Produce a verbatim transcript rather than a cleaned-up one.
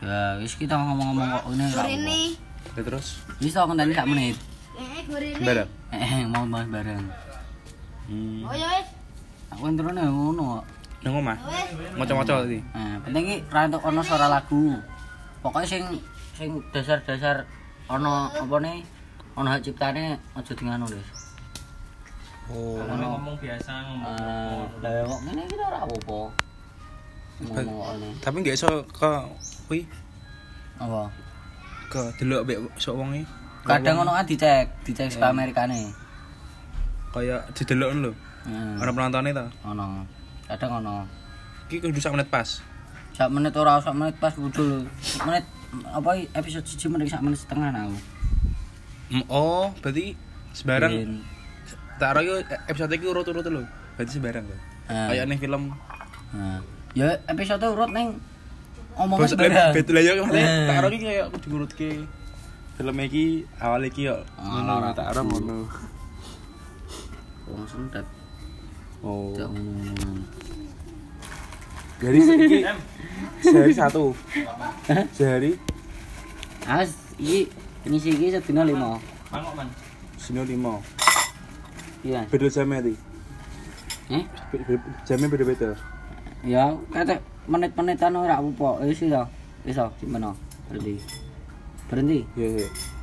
Ya, wis kita ngomong-ngomong kok ngene ra. Ini. Ya terus. Wis tak ngenteni sak menit. Eh, gorene. Bareng. Eh, mau bahas bareng. Hmm. Oh ya wis. Aku entrone ngono kok. Nang omah. Wis. Maca-maca iki. Nah, penting iki ra entuk ono suara lagu. Pokoknya sing sing dasar-dasar ono apa nih? Ono hak ciptane aja dingano, Wis. Oh. Kalau ngomong biasa ngomong. Eh, lah kok ngene iki ora apa-apa. Ngomong kok ngene. Tapi enggak iso ke kuwi Apa? ke delok mbek sok wong iki. Kadang ono kan dicek, dicek ke Amerikane. Kayak didelok lho. Heeh. Ana penontonnya ta. Ono. Kadang ono. Iki kudu sak menit pas. Sak menit ora sak menit pas kudu. Sak menit apa episode siji menit sak menit setengah aku. Mm, Oh, berarti sembarang Bin. tak ora yo episode iki urut-urut lho. Berarti sembarang lho. Eh. Kayak ning film. Nah, ya episode urut ning omongnya Bos sembarang. betul aja kan. Eh. Tak ora iki kayak kudu ngurutke. Film iki awal iki yo ngono tak ora ngono. Wong sentet. Oh. Jak ngono. Jadi iki sehari satu. Sehari As iki ngisi iki sedina lima. Mangkok man. sino lima. Iya. Beda jamnya iki. Eh? Be- be- Jamnya beda-beda. Ya, kata menit-menitan ora apa-apa. Wis ya. Wis ya, gimana? Berhenti. Berhenti. Iya, iya.